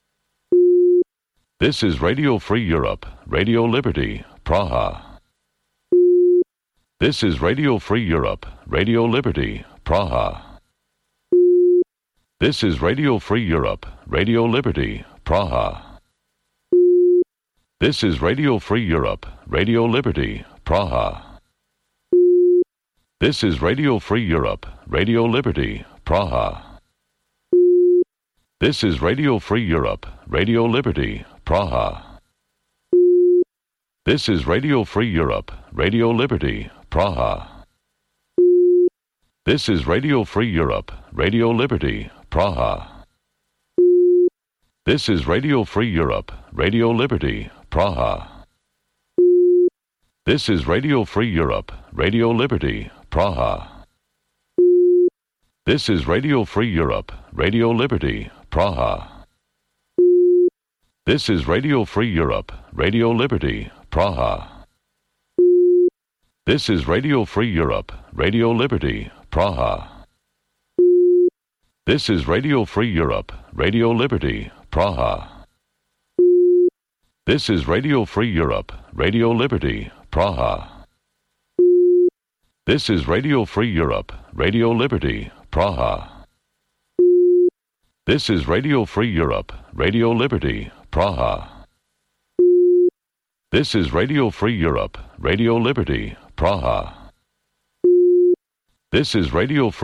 This is Radio Free Europe, Radio Liberty, Praha. This is Radio Free Europe, Radio Liberty, Praha. This is Radio Free Europe, Radio Liberty, Praha. This is Radio Free Europe, Radio Liberty, Praha. This is Radio Free Europe, Radio Liberty, Praha. This is Radio Free Europe, Radio Liberty, Praha. This is Radio Free Europe, Radio Liberty, Praha. This is Radio Free Europe, Radio Liberty, Praha. This is Radio Free Europe, Radio Liberty, Praha. This is Radio Free Europe, Radio Liberty, Praha. This is Radio Free Europe, Radio Liberty, Praha. This is Radio Free Europe, Radio Liberty, Praha. This is Radio Free Europe, Radio Liberty, Praha. This is Radio Free Europe, Radio Liberty, Praha. This is Radio Free Europe, Radio Liberty, Praha. This is Radio Free Europe, Radio Liberty, Praha. This is Radio Free Europe, Radio Liberty, Praha. This is Radio Free Europe, Radio Liberty, Praha. This is Radio Free